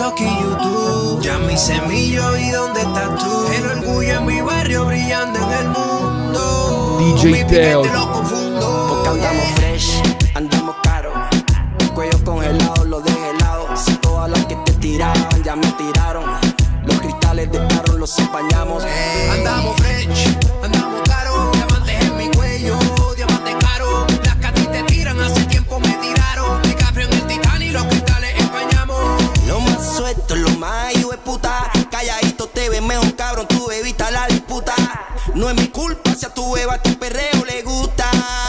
TikTok y YouTube. Ya mi semillo y dónde estás tú. El orgullo en mi barrio brillando en el mundo. D J Teo. Porque andamos fresh, andamos caro. Cuello congelado, lo dejé helado. Si todas las que te tiraban ya me tiraron. Los cristales de carro los empañamos. Hey, andamos fresh, andamos caro. Diamantes en mi cuello, diamantes caro. Las que a ti te tiran hace tiempo me tiraron. DiCaprio en el Titanic, los cristales empañamos. Lo más suelto, lo más hijo de puta. Calladito te ves mejor, cabrón, tú evitas la disputa. No es mi culpa si a tu beba tu perreo le gusta.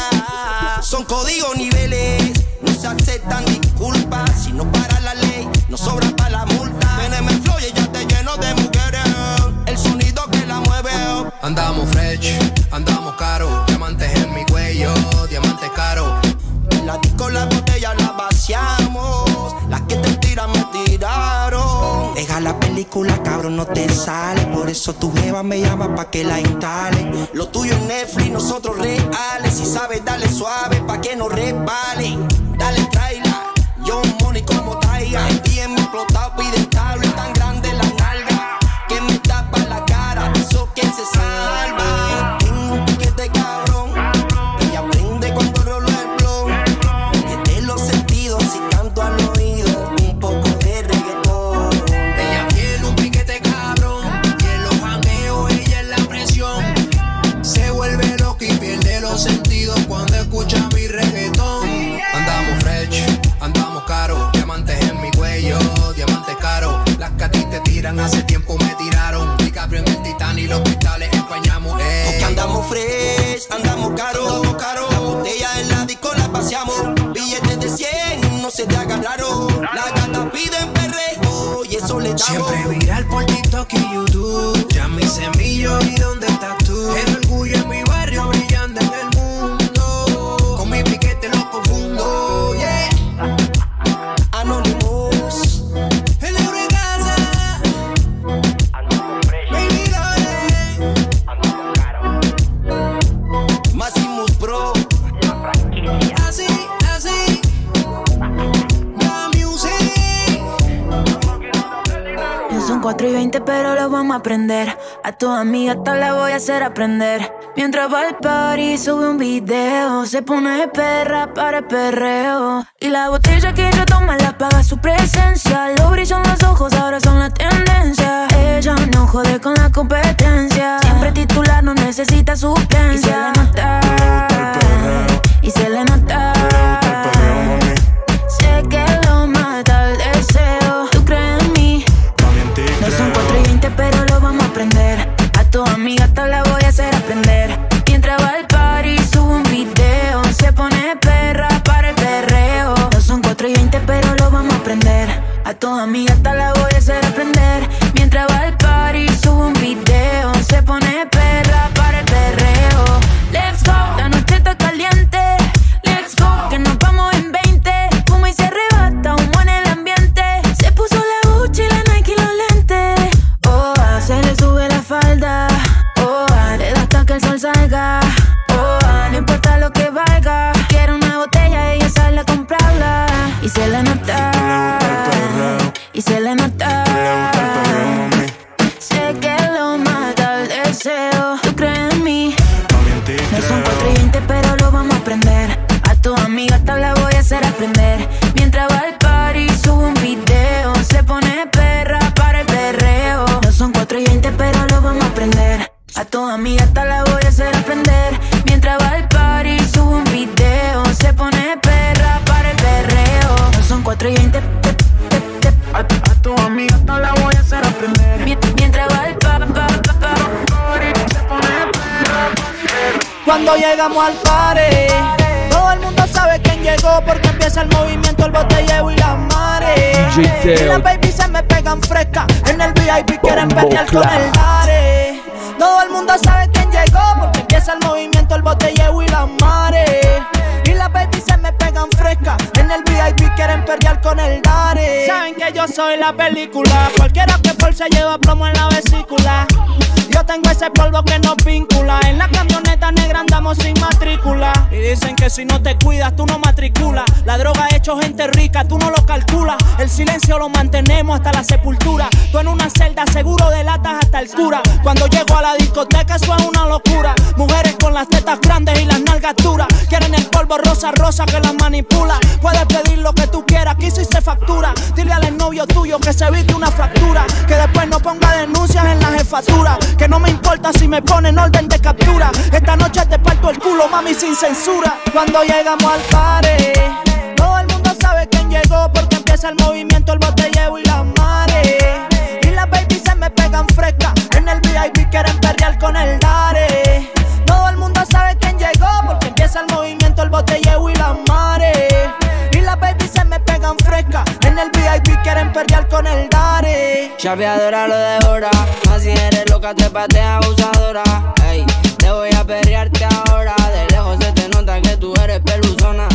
Son códigos niveles, no se aceptan disculpas. Si no para la ley, no sobra para la multa. Teneme el flow y ya te lleno de mujeres. El sonido que la mueve. Andamos fresh, andamos caro. Diamantes en mi cuello, diamantes caro. En la disco la botella la vaciamos. Las que te tiran me tiraron. Deja la película, cabrón, no te sale. Por eso tu jeva me llama pa' que la instale. Lo tuyo es Netflix, nosotros reales. Si sabes, dale suave pa' que no resbale. Dale, tráela, yo money como traiga. El día me explotado, pide cable. Tan grande la nalga que me tapa la cara. Eso que se salva. Tengo un piquete cabrón. Ella aprende cuando rolo el blog. Desde los sentidos y canto al oído. Un poco de reggaetón. Ella tiene un piquete cabrón. Y en los jangueos ella es la presión. Se vuelve loca y pierde los sentidos cuando escucha mi reggaetón. Andamos fresh, andamos caro. Diamantes en mi cuello, diamantes caro. Las que a ti te tiran hace tiempo me tiraron. DiCaprio en el Titanic, los cristales empañamos. Ey. Porque andamos fresh, andamos caro, andamos caro. La botella en la disco la paseamos. Billetes de cien, no se te agarraron. Las gatas piden perreo y eso le damos. Siempre viral por TikTok y YouTube. Ya mi semillo y dónde estás tú. El orgullo en mi barrio brillando en el mundo. Con mi piquete lo confundo, yeah. Anonymous. El euro en casa. Baby, dale. Maximus Pro. Así, así. La music. Son cuatro y veinte pero lo vamos a aprender. A tu amiga tal la voy a hacer aprender. Mientras va al party sube un video. Se pone perra para el perreo. Y la botella que ella toma la paga su presencia. Lo brillan los ojos, ahora son la tendencia. Ella no jode con la competencia. Siempre titular, no necesita suplencia. Y se le nota, y se le nota. Sé que lo mata el deseo. ¿Tú crees en mí? No son cuatro y veinte pero lo vamos a aprender. A tu amiga tal la voy a hacer aprender. Mientras va al party sube un video. Se pone perra para el perreo. No son cuatro y veinte pero lo vamos a aprender. A tu amiga tal la voy a hacer aprender. Mientras va al party sube un video. Se pone perra para el perreo. Let's go, la noche está caliente. Let's go, que nos vamos en veinte. Fuma y se arrebata, humo en el ambiente. Se puso la Gucci, la Nike y los lentes. Oh, ah, se le sube la falda. Oh, ah, le da hasta que el sol salga. Oh, ah, no importa lo que valga. Quiero una botella y ella sale a comprarla. Y se le nota, y se le nota. Sé que lo mata el deseo. ¿Tú crees en mí? No son cuatro y veinte pero lo vamos a aprender. A tu amiga tal la voy a hacer aprender. Mientras va al party sube un video. Se pone perra para el perreo. No son cuatro y veinte pero lo vamos a aprender. A tu amiga tal la voy a hacer aprender. Mientras va al party sube un video. Se pone perra para el perreo. No son cuatro y veinte. A, a tu amiga tal la voy a hacer aprender. Mientras va al pa, pa, pa, pa, se pone perra. Cuando llegamos al party, todo el mundo sabe quién llegó porque empieza el movimiento, el botelleo y las mares. Y las babies se me pegan frescas, en el V I P quieren pelear con el Dare. Todo el mundo sabe quién llegó porque empieza el movimiento, el botelleo y las mares. Y las babies se me pegan frescas, en el V I P quieren perrear con el Dare. Saben que yo soy la película, cualquiera que force lleva plomo en la vesícula. Yo Yo tengo ese polvo que nos vincula. En la camioneta negra andamos sin matrícula. Y dicen que si no te cuidas, tú no matriculas. La droga ha hecho gente rica, tú no lo calculas. El silencio lo mantenemos hasta la sepultura. Tú en una celda seguro delatas hasta el cura. Cuando llego a la discoteca eso es una locura. Mujeres con las tetas grandes y las nalgas duras. Quieren el polvo rosa, rosa que las manipula. Puedes pedir lo que tú quieras, aquí sí se factura. Dile al novio tuyo que se evite una fractura. Que después no ponga denuncias en la jefatura. Que no me importa si me ponen orden de captura. Esta noche te parto el culo, mami, sin censura. Cuando llegamos al party, todo el mundo sabe quién llegó, porque empieza el movimiento, el botelleo y las mares. Y las baby se me pegan frescas. En el V I P quieren perrear con el Dare. Todo el mundo sabe quién llegó, porque empieza el movimiento, el botelleo y las mares. Y las baby se me pegan frescas. En el V I P quieren perrear con el Dare. Chapeadora lo devora. Así eres loca, te patea abusadora. Ey, te voy a perrearte ahora. De lejos se te nota que tú eres peluzona.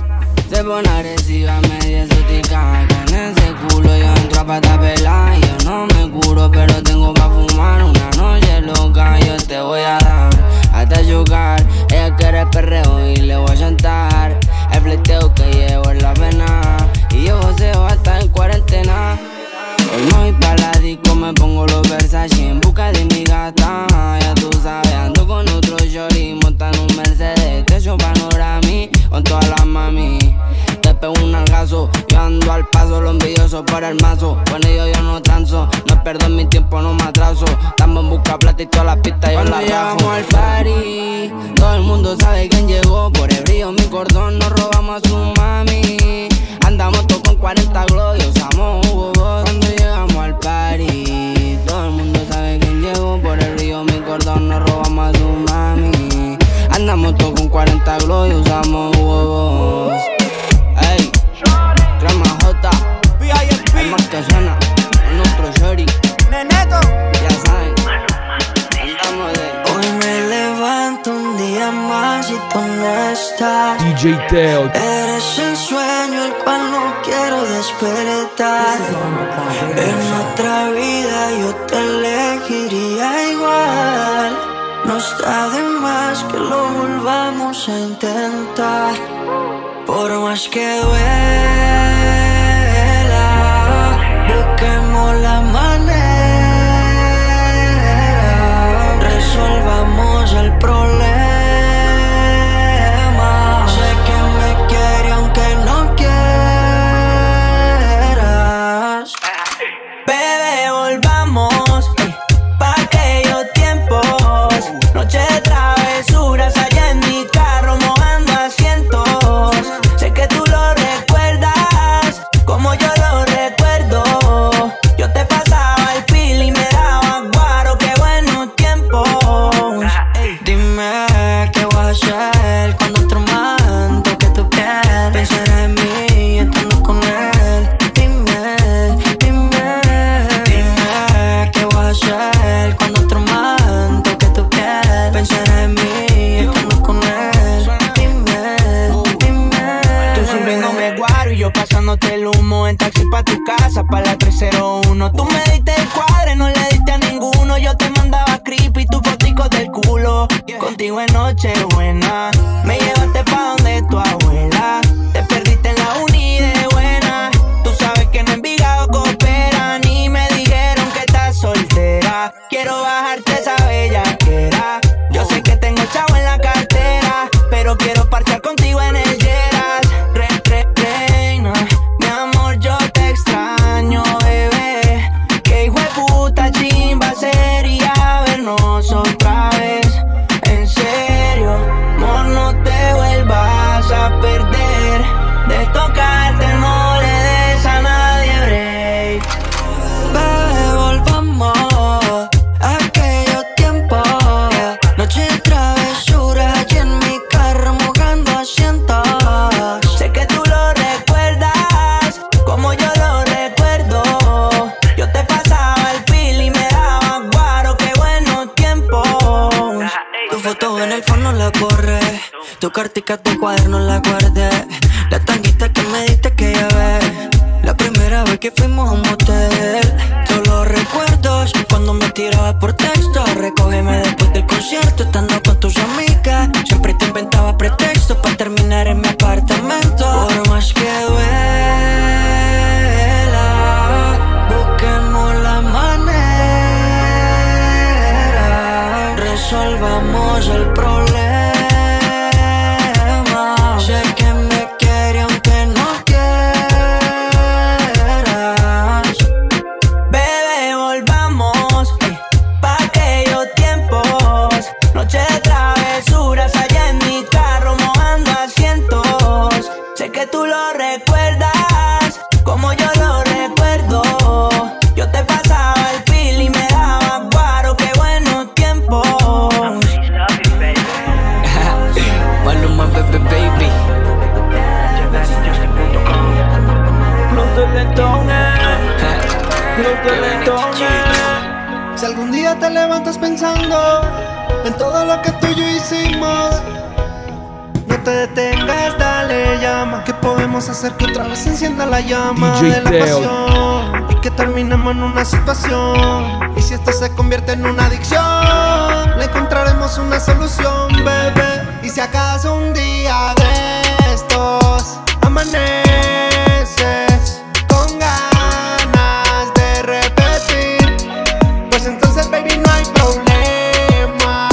Se pone agresiva, media exótica. Con ese culo yo entro a pata pelada. Yo no me curo, pero tengo pa' fumar. Una noche loca, yo te voy a dar hasta chocar. Ella quiere perreo y le voy a chantar. El fleteo que llevo es la pena. Y yo joseo hasta en cuarentena. Hoy no voy pa' la disco, me pongo los Versace en busca de mi gata. Ya tú sabes, ando con otro shorty, montan un Mercedes, techo panorami, con todas las mami. Te pego un algazo, yo ando al paso, los envidiosos por el mazo. Con ellos yo no transo, no pierdo mi tiempo, no me atraso. Estamos en busca plata y todas las pistas yo Cuando las rajo. llegamos al party, todo el mundo sabe quién llegó. Por el brillo mi cordón, nos robamos a su mami. Andamos todos con cuarenta glow y usamos Hugo Boss. Cuando llegamos al party, todo el mundo sabe quién llegó. Por el río mi cordón nos robamos a su mami. Andamos todos con cuarenta glow y usamos Hugo Boss. Ey, crema J, el más que suena, es nuestro shorty. Neneto, ya saben, andamos de. Hoy me levanto un día más y tú no estás. D J Teo. Eres el sueño el cual no quiero despertar. En otra vida yo te elegiría igual. No está de más que lo volvamos a intentar. Por más que duela, busquemos la manera. Resolvamos el problema. Sé que me quiere aunque no quieras. Bebé, volvamos eh, pa' aquellos tiempos. Noche de travesuras allá en mi carro mojando asientos. Sé que tú lo recuerdas como yo lo recuerdo. Yo te pasaba el feel y me daba guaro, qué buenos tiempos. Dime qué voy a hacer cuando otro man toque tu piel. Pensará en mí estando con él. Dime, dime, dime qué voy a hacer cuando otro man toque tu piel. Pensará en mí estando con él. Dime, dime. Tú sirviéndome guaro y yo pasándote el humo en taxi pa' tu casa, pa' la tres cero uno. Tú me diste el cuadre, no le diste a ninguno. Yo te mandaba creepy, tus foticos del culo. Contigo en noche buena, me llevaste pa' donde tu abuela. Te perdiste en la uni de buena. Tú sabes que en Envigado cooperan y me dijeron que estás soltera. Quiero bajarte esa bellaquera. Yo sé que tengo chavo en la cartera, pero quiero parchar contigo en el Lleras. Re, re, reina, mi amor, yo te extraño, bebé. Que hijo de puta chimba sería vernos otra vez. En serio, amor, no te vuelvas a perder. De tocarte no le des a nadie break. Bebé, volvamos a aquellos tiempos. Noche de travesura allí en mi carro mojando asientos. Sé que tú lo recuerdas como yo lo recuerdo. Yo te pasaba el feel y me daba guaro, qué buenos tiempos. Tu foto en el fondo la borré. Tu cartica, tu cuaderno la guardé. La tanguita que me diste que llevé. La primera vez que fuimos a un motel. Todos los recuerdos cuando cuando me tirabas por texto. Recógeme después del concierto, estando con tus amigas. Siempre te inventaba pretextos para terminar en mi apartamento. Por más que duela, busquemos la manera, resolvamos el problema. Sé que me quiere aunque no quieras. Bebé, volvamos eh, pa' aquellos tiempos. Noche de travesuras allá en mi carro mojando asientos. Sé que tú lo recuerdas como yo lo recuerdo. Yo te pasaba el fil y me daba guaro. Qué buenos tiempos. Maluma, baby, baby. Los delentones, los delentones. Si algún día te levantas pensando en todo lo que tú y yo hicimos, no te detengas, dale llama. ¿Qué podemos hacer que otra vez se encienda la llama D J de la Teo. pasión? Y que terminemos en una situación. Y si esto se convierte en una adicción, le encontraremos una solución, bebé. Y si acaso un día de estos amaneces con ganas de repetir, pues entonces, baby, no hay problema.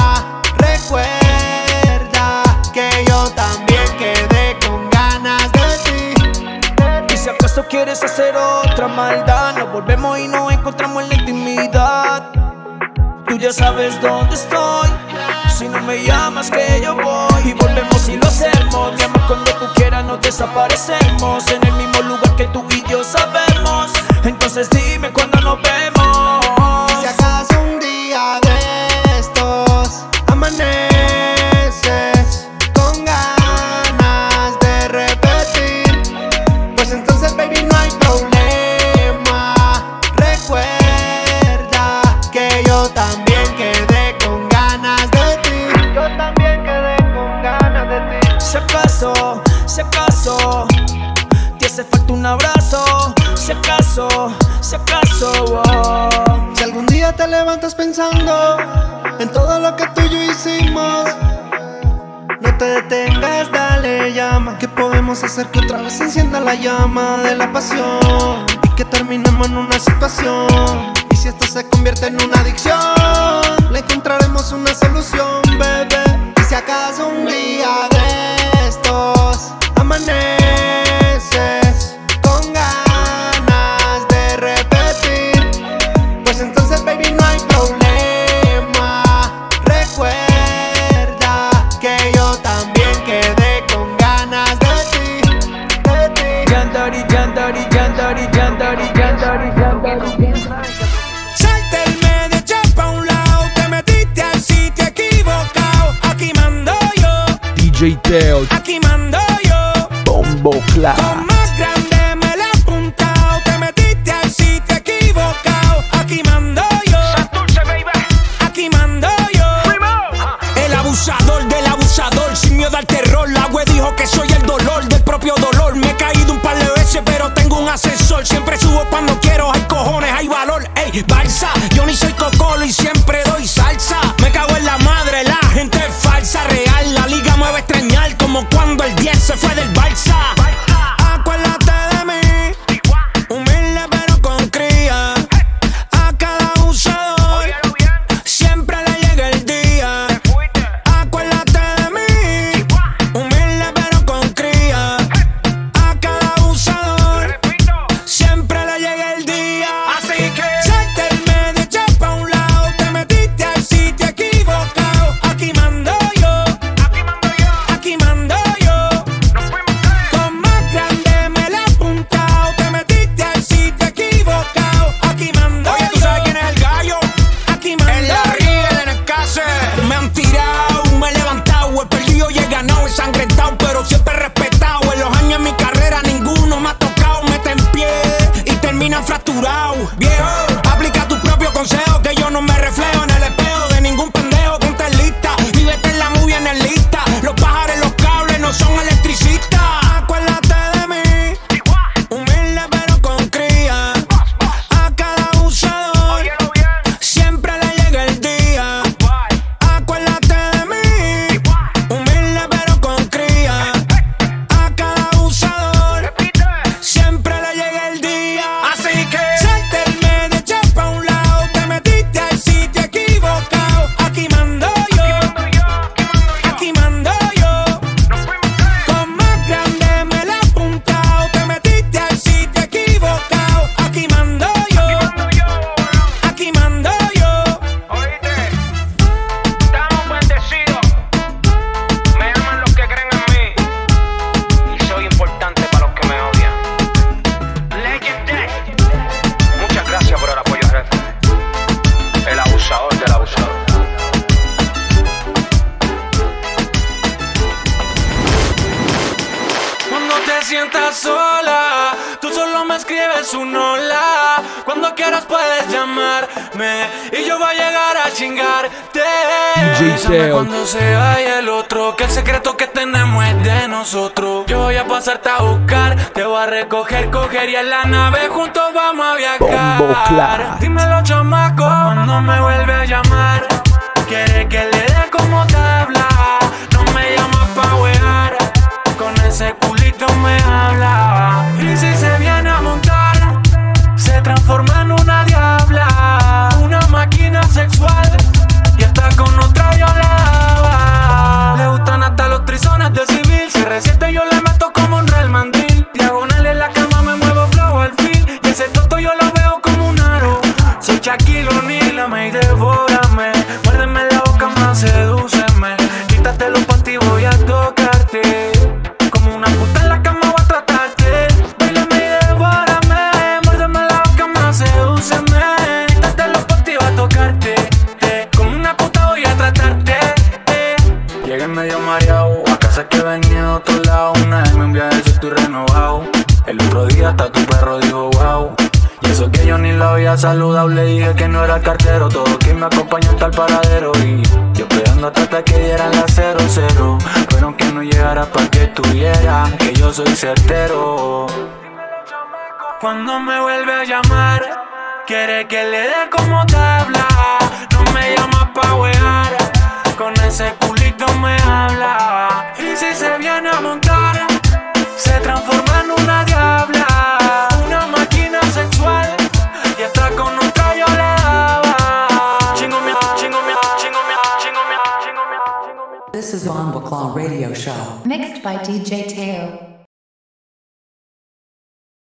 Recuerda que yo también quedé con ganas de ti. Y si acaso quieres hacer otra maldad, nos volvemos y nos encontramos en la intimidad. Tú ya sabes dónde estoy. Si no me llamas que yo voy. Y volvemos y lo hacemos. Mi amor, cuando tú quieras nos desaparecemos. En el mismo lugar que tú y yo sabemos. Entonces dime cuándo nos vemos. Y si acaso un día de estos amaneces con ganas de repetir, pues entonces, baby, no hay problema. Recuerda que yo también quedé con ganas de ti. Yo también quedé con ganas de ti. Si acaso, si acaso te hace falta un abrazo. Si acaso, si acaso oh. Si algún día te levantas pensando en todo lo que tú y yo hicimos, no te detengas, dale llama. ¿Qué podemos hacer que otra vez se encienda la llama de la pasión? Y que terminemos en una situación. Y si esto se convierte en una adicción, le encontraremos una solución, bebé. Y si acaso un día de estos amaneces con ganas de repetir, pues entonces, baby, no hay problema. Recuerda que yo también quedé con ganas de ti, de ti. Yandari, yandari, yandari, yandari, yandari, yandari. Salte el medio, echa pa' un lado. Te metiste al sitio equivocado. Aquí mando yo, D J Teo, aquí mando yo. Bombo Con Clap. más grande me la he apuntado. Te metiste al sitio equivocado. Aquí mando yo, aquí mando yo. El abusador del abusador, sin miedo al terror. La web dijo que soy el dolor del propio dolor. Me he caído un par de veces, pero tengo un ascensor. Siempre subo cuando quiero, hay cojones, hay valor. Ey, balsa, yo ni soy cocolo y siempre doy salsa. Me cago en la madre, la gente es falsa, real. La liga me va a extrañar como cuando el diez se fue del Barça. Acuérdate de mí, humilde pero con cría. A cada abusador siempre le llega el día. Acuérdate de mí, humilde pero con cría. A cada abusador siempre le llega el día. Así que salte el medio, echa pa' un lado. Te metiste escribes un hola. Cuando quieras puedes llamarme y yo voy a llegar a chingarte. Avísame cuando se vaya el otro, que el secreto que tenemos es de nosotros. Yo voy a pasarte a buscar, te voy a recoger, coger y en la nave juntos vamos a viajar. Dímelo, chamaco, cuando me vuelve a llamar, quiere que le dé como tabla. No me llama pa' wear, con ese culito me habla. Y si se viene a montar, se transforma en una diabla, una máquina sexual, y está con otra yo la daba. Le gustan hasta los trizones de civil, si resiente yo le meto como un real mandril. Diagonal en la cama me muevo flow al fin, y ese toto yo lo veo como un aro. Soy Shaquille O'Neal, me y devórame, muérdeme la boca más, sedúceme. Quítate los panty, voy a tocarte, como una puta en la cama voy a tratarte. Bailame y devórame, muérdeme la boca más, sedúceme. Quítate los panty, voy a tocarte, eh, como una puta voy a tratarte, eh. Llegué medio mareado, a casa que venía de otro lado. Una vez me un viaje, si estoy renovado. El otro día hasta tu perro dijo wow. Y eso que yo ni lo había saludado, le dije que no era el cartero. Todo quien me acompañó hasta el paradero. Y yo esperando hasta que dieran las cero cero, pero que no llegara pa' que estuviera, que yo soy certero. Cuando me vuelve a llamar, quiere que le dé como tabla. No me llama pa' wear, con ese culito me habla. Y si se viene a montar, se transforma en una diabla, una máquina sexual, y está con otra yo le daba. Chingo mi, chingo mi, chingo mi, chingo mi, chingo mi. This is Bomba Claw Radio Show. Mixed by D J Teo.